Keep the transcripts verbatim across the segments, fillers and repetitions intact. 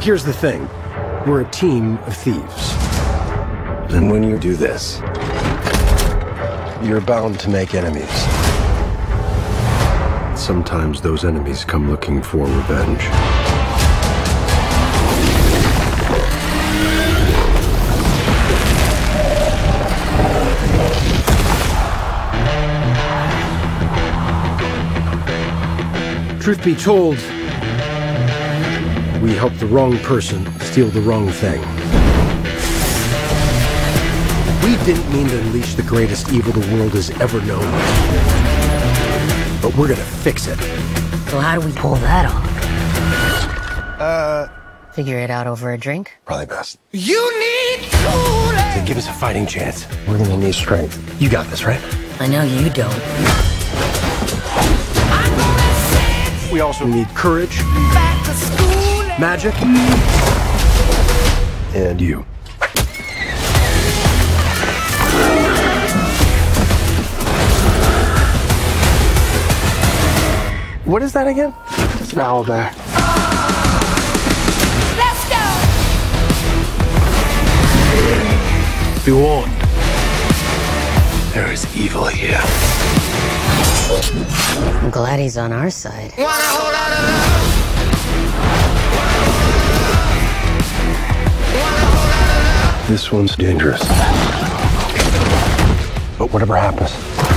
Here's the thing. We're a team of thieves. And when you do this, you're bound to make enemies. Sometimes those enemies come looking for revenge. Truth be told, we helped the wrong person steal the wrong thing. We didn't mean to unleash the greatest evil the world has ever known. But we're gonna fix it. So how do we pull that off? Uh... Figure it out over a drink? Probably best. You need to To give us a fighting chance, we're gonna need strength. You got this, right? I know you don't. We also need courage, back to school. magic, and you. What is that again? It's an owl bear. Let's go. Be warned. There is evil here. I'm glad he's on our side. Want a whole lot of love. Want a whole lot of love. This one's dangerous. But whatever happens,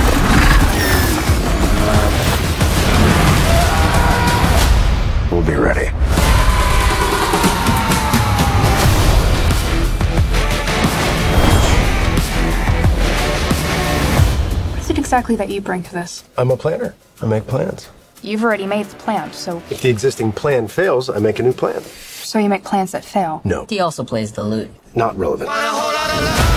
we'll be ready. What is it exactly that you bring to this? I'm a planner. I make plans. You've already made the plan, so If the existing plan fails, I make a new plan. so you make plans that fail. No, He also plays the lute. not relevant. Want a whole lot of love.